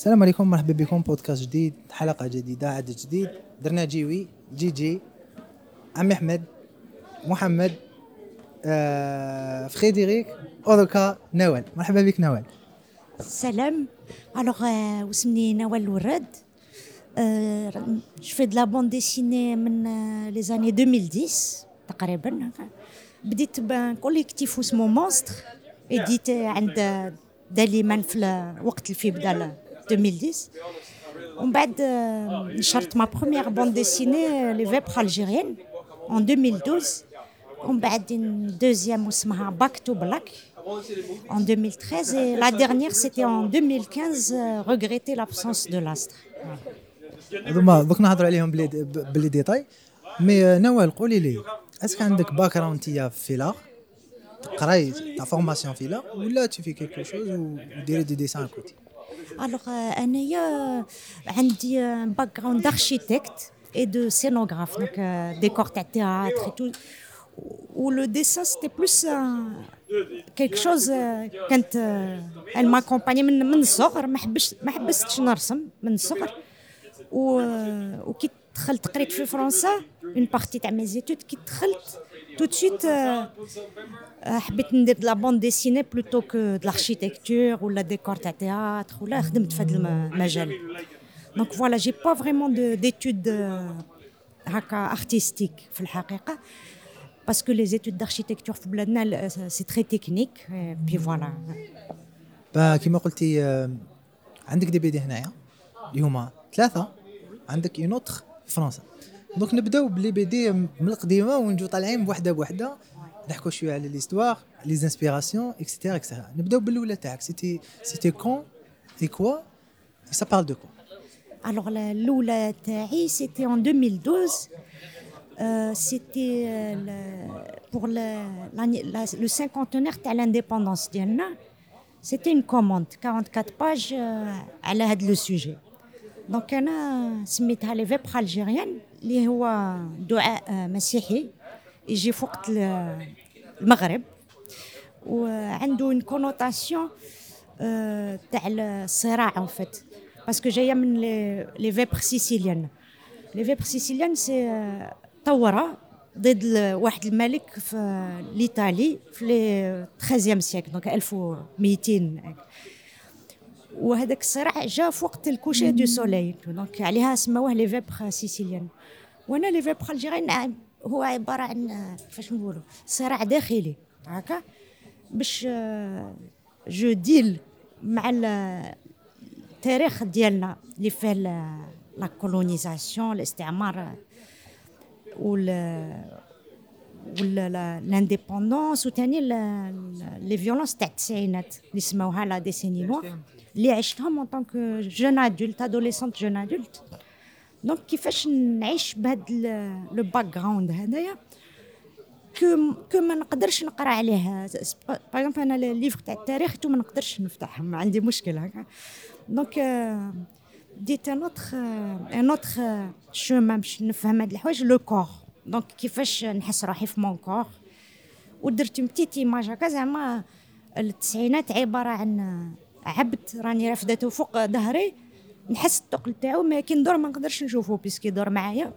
السلام عليكم، مرحبا بكم بودكاست جديد، حلقة جديدة، عدد جديد. درنا جيوي جي عمي أحمد محمد فريدريك أوروكا نوال. مرحبا بك نوال. سلام. alors واسمني نوال الوراد. je fais de la bande dessinée من les années 2010 تقريبا. بديت بكوليكتيف اسمه مونستر اديتي عند داليمان في وقت الفي بدا 2010. ومن بعد نشرت ما بروميير بوند ديسيني لي فيبر الجيريان en 2012. ومن بعد دوزيام اسمها باك تو بلاك en 2013 et la dernière c'était en 2015 regretter l'absence de l'astre. هذوما دوك نهضروا عليهم بلي ديتاي. مي نوال قولي لي، اسك عندك باك جراوند تيا في لا تقراي تا فورماسيون في لا ولا tu fais quelque chose وديري دي ديسان كوتي؟ alors انايا عندي باك جراوند d'architecte et de scénographe, donc décor de théâtre et tout. Où le dessin c'était plus quelque chose كانت elle m'accompagnait من الصغر. ما حبستش نرسم من الصغر. وكي دخلت قريت في فرنسا une partie تاع mes études. كي دخلت tout de suite حبيت ندير de la bande dessinée plutôt que de l'architecture ou la décor تاع théâtre ولا خدمت في هذا المجال. donc voilà, j'ai pas vraiment d'études هكا artistiques في الحقيقة, parce que les études d'architecture في بلادنا c'est très technique. et puis voilà. كما قلتي عندك دي بي دي هنايا اللي هما 3. عندك اون اوتر في فرنسا. دونك نبداو بلي بي دي من القديمه ونجو طالعين بوحده بوحده نحكوا شويه على ليستوار لي انسبيراسيون اكسترا اكسترا. نبداو بالاولى تاعك. سيتي كون اي كوا سا بارل دو كوا؟ alors الاولى تاعي c'était en 2012. c'était pour le cinquantenaire تاع l'indépendance ديالنا. c'était une commande 44 pages على هذا لو سوجي. دونك انا سميتها لي فيبر الجيريان اللي هو دعاء مسيحي يجي في وقت المغرب, وعنده une connotation تاع الصراع en fait, parce que جايه من لي فيبر سيسيليان. لي فيبر سيسيليان سي ثوره ضد واحد الملك في الايطالي في 13 سيكل, دونك 1200. وهذاك الصراع جا في وقت الكوشي دو سوليل, دونك عليها سموه لي فيبر سيسيليان. وانا لي فيبر الجيريان هو عباره عن كيفاش نقولوا صراع داخلي هكا باش جو ديل مع التاريخ ديالنا اللي فيه لا كولونيزاسيون, الاستعمار لانديبوندونس, وثاني لي فيولونس تاع التسعينات اللي سموها لا ديسيني نوار اللي عشتهم اون طونك جون ادولت ادوليسونت جون ادولت. دونك كيفاش نعيش بهذا لو باك جراوند هذايا كو ما نقدرش نقرا عليه. باغ اكزومبل انا الليفر تاع التاريخ تو ما نقدرش نفتحه, ما عندي مشكل هكا. دونك ديت ان اوتر شومان باش نفهم هاد الحوايج لو كور. دونك كيفاش نحس روحي في مون كور, ودرت بتيت ايماج هكا زعما التسعينات عباره عن عبد راني رافدته فوق ظهري, نحس الثقل تاعو ما كي ندور ما نقدرش نشوفه بيسكي يدور معايا.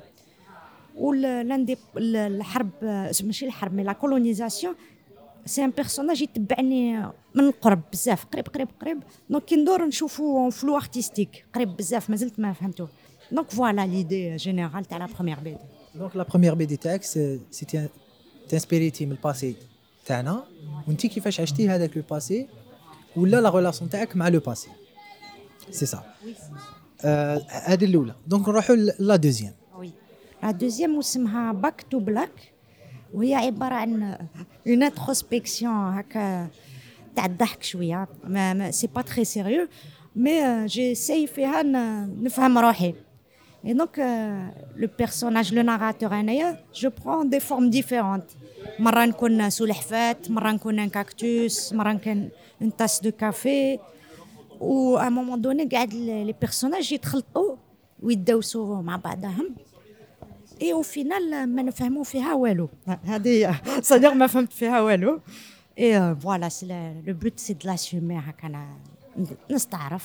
الحرب ماشي الحرب مي لا كولونيزاسيون سي ان بيرسوناج يتبعني من القرب بزاف, قريب. دونك كي ندور نشوفو فلو ارتستيك قريب بزاف, مازلت ما فهمتوه. دونك فوالا ليدي جينيرال تاع لا بروميير بي دي. دونك لا بروميير بي دي تاعك سيتي تانسبيريتي من الباسي تاعنا, وانتي كيفاش عشتي هذاك لو باسي ولا لا ريلاسيون تاعك مع لو باسي, سي سا. هذه الاولى. دونك نروحوا لا دوزيام. وي لا دوزيام اسمها باك تو بلاك, وهي عباره عن اون انتروسبكسيون هكا تاع الضحك شويه. ما سي با تري سيريو, مي جيساي فيها نفهم روحي. Et donc, le personnage, le narrateur, je prends des formes différentes. مرة نكون سلحفاة, مرة نكون un cactus, مرة نكون une tasse de café. و à un moment donné, قاعد les personnages يتخلطوا ويتداوسوا مع بعضهم. Et au final, ما نفهموا فيها والو. هذه c'est-à-dire ما فهمت فيها والو. Et voilà, le but c'est de l'assumer هكا نستعرف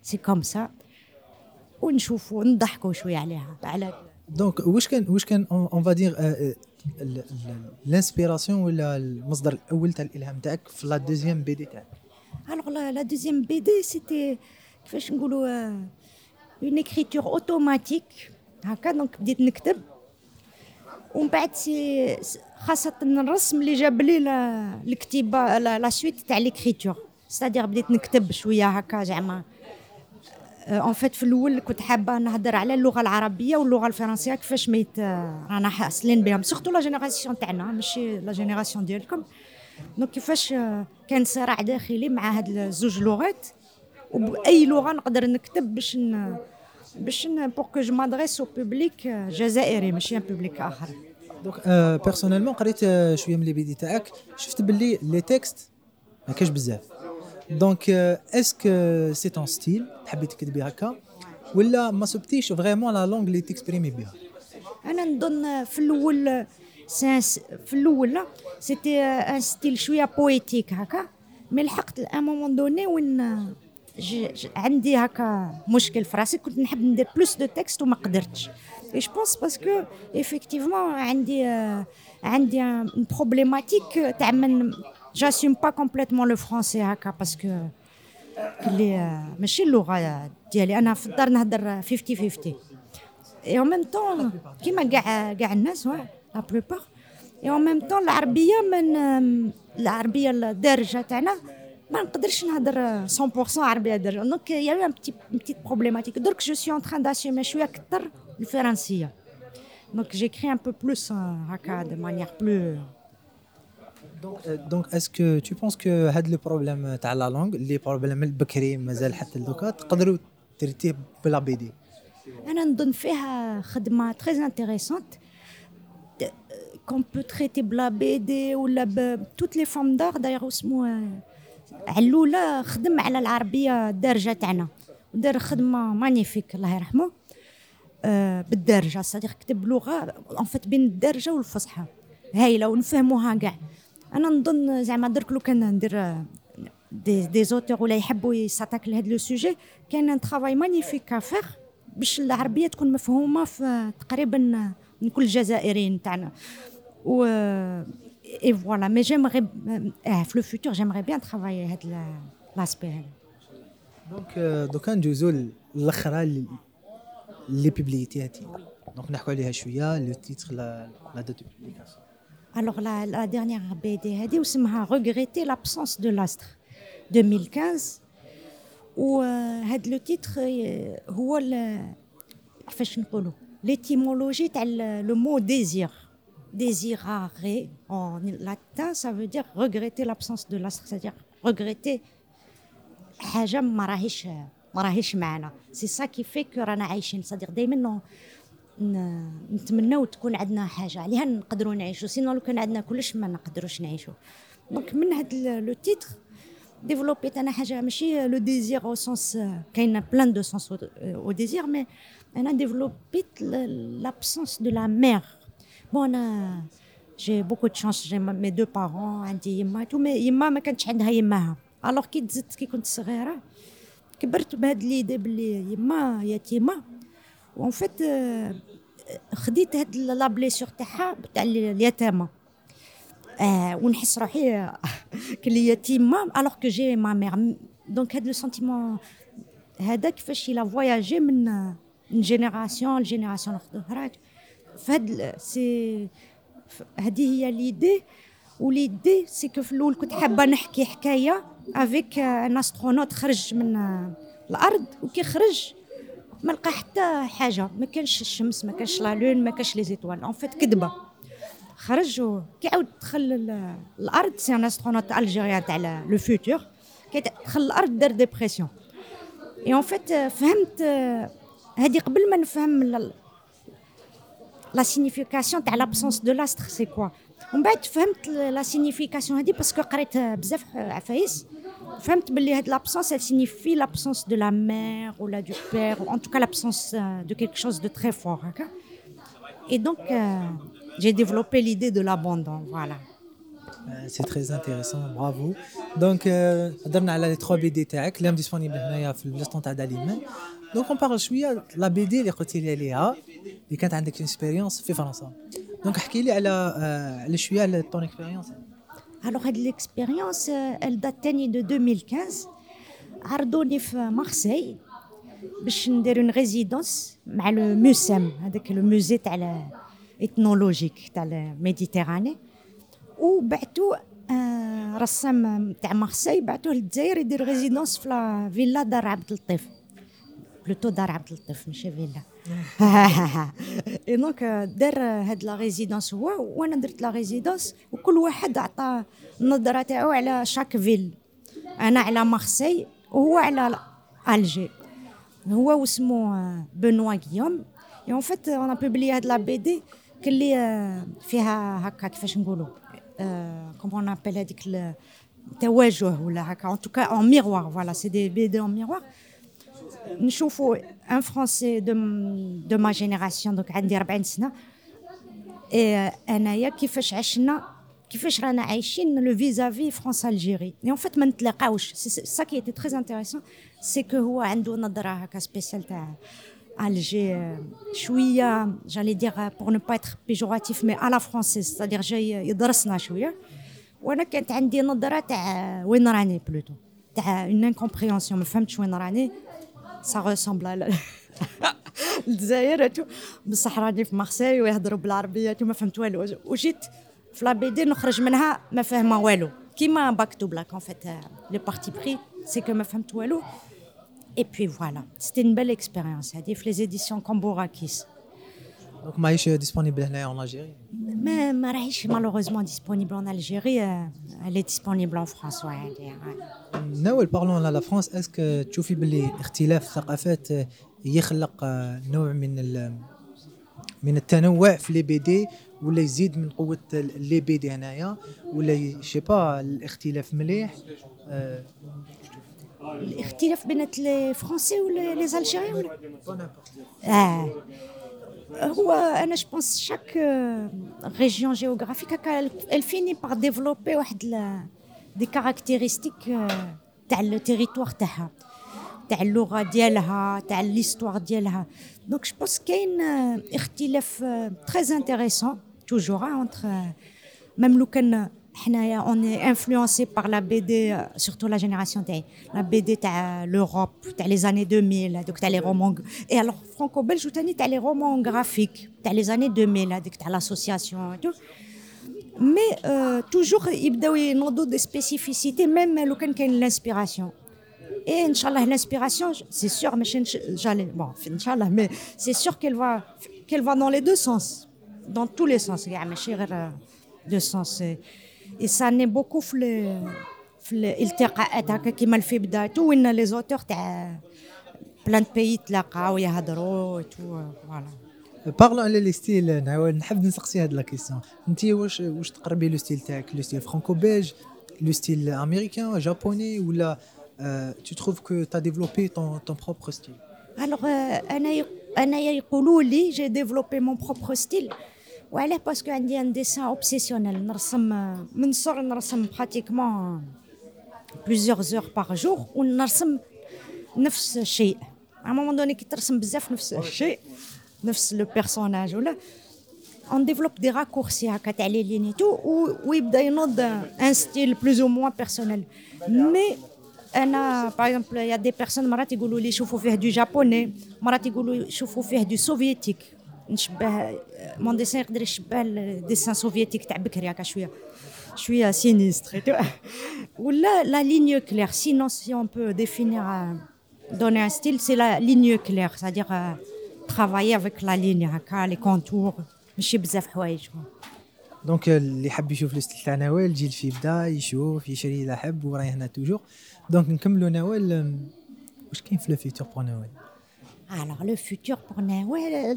سي كوم سا ونشوفوا نضحكوا شويه عليها على. دونك واش كان اون فا دير الانسبيراسيون ولا المصدر الاول تاع الالهام تاعك في لا دوزيام بي دي تاعك؟ Alors la deuxième BD, c'était كيفاش نقولوا une écriture automatique هكا. دونك بديت نكتب ومن بعد خاصة الرسم اللي جاب لي الكتابة لا سويت تاع l'écriture. c'est-à-dire بديت نكتب شوية هكا زعما en fait في الأول كنت حابة نهضر على اللغة العربية واللغة الفرنسية كيفاش رانا حاصلين بهم سورتو لا جينيراسيون تاعنا ماشي لا جينيراسيون ديالكم. دونك كيفاش كان صراع داخلي مع هاد الزوج لغات وبأي لغة نقدر نكتب باش بور كو جو مادريس او بوبليك جزائري ماشي ان بوبليك آخر. دونك بيرسونيلمون قريت شويه من لي بيدي تاعك شفت باللي لي تكست ما كاش بزاف. دونك اسكو سي تون ستيل تحبي تكتبي هكا ولا ما سبتيش فريمون لا لونغ اللي تكسبريمي بها؟ انا نظن في الاول سيتي ان ستيل شويه بويتيك هكا مي لحقت ان مومون دوني وين عندي هكا مشكل في راسي كنت نحب ندير بلوس دو تكست وما قدرتش. اي جو بونس باسكو ايفيكتيفمون عندي ان بروبليماتيك تاع من j'assume pas complètement le français هكا باسكو اللي ماشي اللغه ديالي. انا في الدار نهضر 50-50 et en même temps كيما كاع الناس لا بلوبار et en même temps العربيه الدارجه تاعنا ما نقدرش نهضر 100% عربيه دارجه. دونك يا ان بتيت بروبليماتيك. درك جو سوي ان تران داسيومي شويه اكثر الفرنسيه. دونك جيكري ان بو بلوس هكا دو مانيير بلو. دونك اسكو tu penses que هاد لو بروبليم تاع لا لونغ اللي بروبليم البكري مازال حتى دوكا تقدروا تريتيه بلا بي دي؟ انا نظن فيها خدمه تري انتريسونت كون بو تريتي بلا بي دي ولا بتوت لي فورم دار. داير اسمه علوله خدم على العربيه الدارجه تاعنا ودار خدمه مانيفيك الله يرحمه بالدارجه. صديق كتب لغه ان فيت بين الدارجه والفصحى هايله ونفهموها كاع. انا نظن زعما درك لو كان ندير دي زوتور ولا يحبوا يساتاك لهاد لو سوجي كاين ان طرافاي مانيفيك افير باش العربيه تكون مفهومه في تقريبا من كل الجزائريين تاعنا و اي فوالا. مي جيمغي في لو فوتور جيمغي بيان ترافاي هاد لاسبي هذا. دونك دوكا ندوزو الاخرى اللي بيبليتياتي دونك نحكوا عليها شويه لو تيتر لا دات دو بوبليكاسيون. Alors la dernière BD هذه واسمها Regretter l'absence de l'astre 2015 وهذا لو تيتر هو كيفاش نقولوا l'étymologie تاع le mot désir. Désirer en latin ça veut dire regretter l'absence de l'astre, c'est-à-dire regretter حاجه ما راهيش معنا. سي سا كي في كو رانا عايشين. صديق دائما نتمناو تكون عندنا حاجه عليها نقدروا نعيشوا سينو لو كان عندنا كلش ما نقدروش نعيشوا. دونك من هذا لو تيتر ديفلوبيت انا حاجه ماشي لو ديزير او سونس كاين بلان دو سونس او ديزير مي انا ديفلوبيت لابسونس دو لا مير. بون انا جي بوكو دو شانس جي مي دو بارون عندي يما تو مي يما ما كانتش عندها يماها. الوغ كي تزدت كي كنت صغيره كبرت بهاد ليدي بلي يما يتيمه وان فيت خديت هاد لا بليسور تاعها تاع اليتامى ونحس روحي كلي يتيمه الوغ كو جي ما مير. دونك هاد لو سونتيمون هذا كيفاش لا فواياجي من جينيراسيون لجينيراسيون اخرى. فهاد سي هذه هي ليدي. وليدي سي كو في الاول كنت حابه نحكي حكايه افيك ان استرونوت خرج من الارض وكي خرج ما لقى حتى حاجه. ما كانش الشمس ما كانش لا لون ما كانش لي زيتوال ان فيت كذبه. خرج وكي عاود دخل الارض سي ان استرونوت الجيريان تاع لو فوتور كي دخل الارض دار ديبرسيون. اي ان فيت فهمت هذه قبل ما نفهم لا سينيفيكاسيون تاع لابسونس دو لاستر سي كوا. ومن بعد فهمت لا سينيفيكاسيون هذه باسكو قريت بزاف عفايس. فهمت باللي هاد لابسونس elle signifie l'absence de la mère ou la du père ou en tout cas l'absence de quelque chose de très fort et donc j'ai développé l'idée de l'abandon. Voilà. سي تري انتريسون برافو. دونك هضرنا على لي 3 بي دي تاعك اللي هم ديسپونيبل هنايا في البلاصه تاع داليمان. دونك اون بارل شويه لا بي دي اللي قلتي لي عليها اللي كانت عندك اكسبيريونس في فرنسا. دونك احكي لي على شويه على طون اكسبيريونس. Alors, l'expérience, elle date de 2015. عرضوني في مارسي باش ندير اون ريزيدونس مع لو موسم هذاك لو موزي تاع الاثنولوجيك تاع الميديتيراني، وبعثوا رسام تاع مارسي بعثوه للجزائر يدير ريزيدونس في لا فيلا دار عبد اللطيف، بلوتو دار عبد اللطيف ماشي فيلا. اي دونك دار هاد لا ريزيدونس هو، وانا درت لا ريزيدونس، وكل واحد عطى النظره تاعو على شاك فيل. انا على مارسي وهو على الجي. هو واسمو بنوا غيوم. اي اون فيت انا بوبلي هاد لا بي دي كلي فيها هكا كيفاش نقولوا كومون نابيل هذيك التواجه ولا هكا، ان توكا اون ميروار. فوالا سي دي بي دي اون ميروار. نشوفوا ان فرونسي دو ما جينيراسيون، دونك عندي 40 سنه، انايا كيفاش عشنا، كيفاش رانا عايشين لو فيزافي فرنسا الجيري. اي اون فيت ما نتلاقاوش. سا كي ايتي تري انتريسون سي كو هو عنده نظره هكا سبيسيال تاع الجي شويه جالي دير بور نو با اتر بيجوراتيف مي على فرونسيز، صدير جاي يدرسنا شويه، وانا كانت عندي نظره تاع وين راني بلوتو، تاع اون انكومبريونسيون، ما فهمتش وين راني. سا ريسامبل على الجزائر بصح راني في مارسي ويهضروا بالعربيه وما فهمت والو، وجيت في لا بي دي نخرج منها ما فاهمه والو، كيما مكتوب لك. ان فيت لي بارتي بري سي كو ما فهمت والو. اي بي فوالا سيتي اون بيل اكسبيريونس هذه في لي زيديسيون كومبوراكيس. دونك ماهيش ديسپونيبل هنايا اون الجيري؟ ما راهيش مالوغوزمون ديسپونيبل ان الجيري، لي ديسپونيبل ان فرانس. ناول بارلون على فرنسا، اسكو تشوفي باللي اختلاف الثقافات يخلق نوع من التنوع في لي بي دي، ولا يزيد من قوه لي بي دي هنايا، ولا شي با الاختلاف مليح؟ الاختلاف بين لي فرونسي ولا لي الجيريين هو انا جو بونس شاك ريجيون جيوغرافيك elle finit par développer واحد دي كاركتيرستيك تاع التيريتوار تاعها، تاع اللغه ديالها، تاع ليستوار ديالها. دونك جو بونس كاين اختلاف تري انتريسون توجور انتر، ميم لو كان حنايا اوني انفلونسي بار لا بي دي، سورتو لا جينيراسيون تاعي لا بي دي تاع لوروب تاع لي زاني 2000 هذوك تاع لي رومون، اي الوغ فرانكو بلج وثاني تاع لي رومون غرافيك تاع لي زاني 2000 هذيك تاع لاسوسياسيون. مي توجور يبداو ينوضوا دي سبيسيفيسيتي ميم لو كان كاين لانسبيراسيون. اي ان شاء الله لانسبيراسيون سي سور ماشي جالي بون ان شاء الله، مي سي سور qu'elle va dans les deux sens, dans tous les sens كاع ماشي غير دو سونس. اي سا ني بوكو في الالتقاءات هكا كيما في بدايته وين لي زوتور تاع بلان بيي تلاقاو يهضروا تو فوالا. بارلون على لي ستيل، نحب نسقسي هاد لا كيسيون. انت واش تقربي لو ستيل تاعك لو ستيل فرانكو بيلج، لو ستيل امريكان جابوني، ولا tu trouves que tu as développé ton propre style? Alors انا يقولوا لي جي ديفلوبي مون بروبر ستيل، وعلاه باسكو عندي ان ديسان اوبسيسيونيل، نرسم من صغر، نرسم براتيكمون بليزيور زور باغ جور، ونرسم نفس الشيء. ا مومون دوني كي ترسم بزاف نفس الشيء، نفس لو بيرسوناج ولا on développe des raccourcis هكا تاع لي لينيتو، ويبدا ينوض ان ستيل بلوز او موان بيرسونيل. مي انا باغ اكزومبل يا دي بيرسون مرات يقولوا لي شوفوا فيه دو جابوني، مرات يقولوا شوفوا فيه دو سوفيتيك، نشبه مون ديسان يقدر يشبه الديسان سوفيتيك تاع بكري هكا شويه سينيستر ولا لا لينيو كلير. سينون سي اون بو ديفينير donner un style, c'est la ligne claire, c'est-à-dire travailler avec la ligne هكا لي كونتور، ماشي بزاف حوايج. دونك اللي حب يشوف الستيل تاع نوال يجي في بدا يشوف يشري اذا حب، وراي هنا توجور. دونك نكملوا نوال، واش كاين في لو فيتور بور نوال؟ Alors le futur pour Nawal,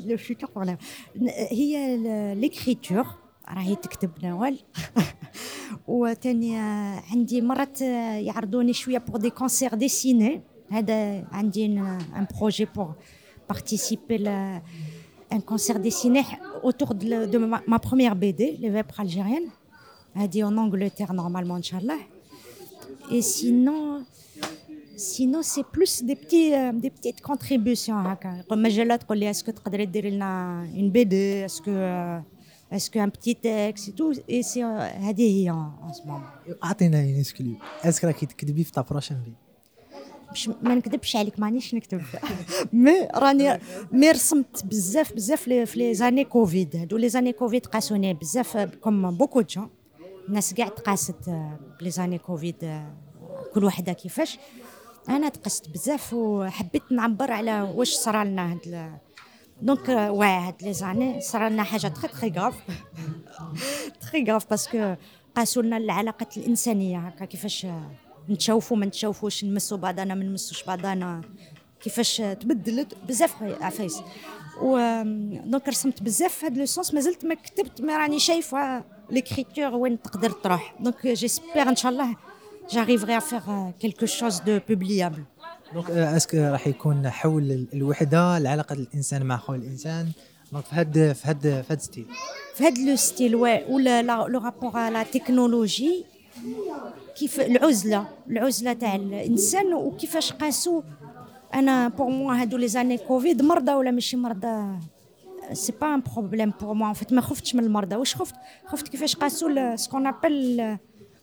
هي l'écriture راهي تكتب نوال. وثاني عندي مرات يعرضوني شويه pour des concerts dessinés. هذا عندي un projet pour participer à un concert dessiné autour de ma première BD, Les Vêpres algériennes. هادي en Angleterre normalement inchallah. Et sinon c'est plus des petites contributions هكا مجالات تقول لي اسكو تقدري ديري لنا une BD est-ce un petit texte et tout et c'est هذه هي en ce moment. اعطينا نسكليو اسك راكي تكتبي في تا بروشين في باش ما نكذبش عليك مانيش نكتب مي رسمت بزاف في لي زاني كوفيد هادو لي زاني كوفيد قاسوني بزاف كوم بوكو جون الناس كاع تقاست بلي زاني كوفيد كل وحده كيفاش انا تقست بزاف وحبيت نعبر على واش صرا لنا دونك هاد لي زاني صرا لنا حاجه تري غاف باسكو قاسوا لنا العلاقات الانسانيه هكا كيفاش نتشوفوا ما نتشوفوش نمسوا بعضنا ما نمسوش بعضنا كيفاش تبدلت بزاف عفايس و دونك رسمت بزاف في هذا لو سونس مازلت ما كتبت ما راني شايفه ليكريتور وين تقدر تروح دونك جيسبر ان شاء الله j'arriverai à faire quelque chose de publiable. دونك اسك راح يكون حول الوحده العلاقه الانسان مع اخوه الانسان دونك في هاد ستيل في هاد لو ستيل ولا لو رابور على لا تكنولوجي كيف العزله تاع الانسان وكيفاش قاسوا انا بور موا هادو لي زاني كوفيد مرضى ولا ماشي مرضى سي با ان بروبليم بور موا فيت ما خفتش من المرضى واش خفت كيفاش قاسوا سكون ابل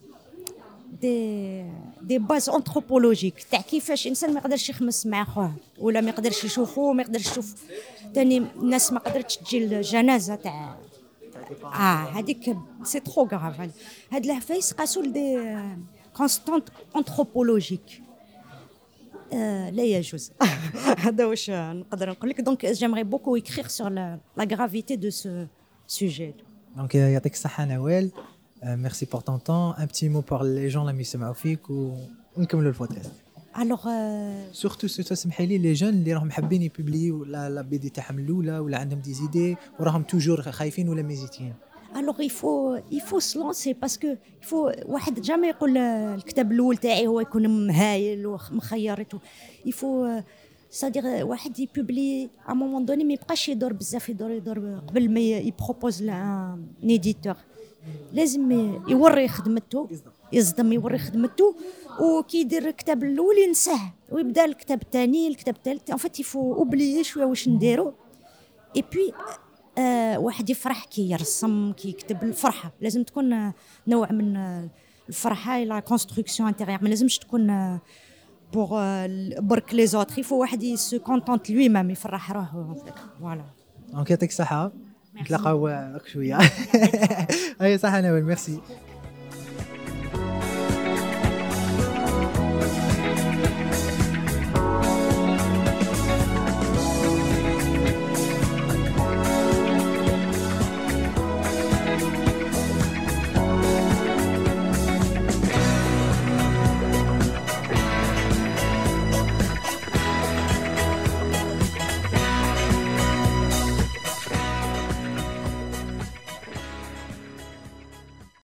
دي باز انثروبولوجيك تاع كيفاش انسان ما يقدرش يخمس مع خوه ولا ما يقدرش يشوفه ما يقدرش يشوف ثاني الناس ما قدرتش تجي الجنازه تاع هذيك سي ترو غراف هاد العفايس قاسوا دي كونستانت انثروبولوجيك لا يجوز هذا واش نقدر نقول لك دونك جيمري بوكو écrire sur la gravité de ce sujet. Donc يعطيك الصحه نوال. Merci pour ton temps. Un petit mot pour les gens اللي يسمعوا فيك ونكملوا البودكاست. Alors surtout تسمحي لي لي جون اللي راهم حابين يبوبليو لا بي دي تاعهم الاولى ولا عندهم دي زيدي وراهم توجور خايفين ولا ميزيتين. Alors il faut se lancer parce que il faut واحد جامي يقول الكتاب الاول تاعي هو يكون مهايل ومخيرته il faut c'est-à-dire واحد يبوبلي à un moment donné ما يبقاش يدور بزاف يدور قبل ما يبروبوز لان ايديتور لازم يوري خدمته يصدم يوري خدمته وكي يدير الكتاب الاول ينساه ويبدا الكتاب الثاني الكتاب الثالث ان فيت يفو اوبليي شويه واش نديرو اي بي واحد يفرح كي يرسم كي يكتب الفرحه لازم تكون نوع من الفرحه لا كونستركسيون انتيريور ما لازمش تكون بور برك لي زوتر يفو واحد يسو كونتونت لوي ميم يفرح روحه فوالا دونك يعطيك الصحه نتلاقاو شويه. هاي صح نوال ميرسي.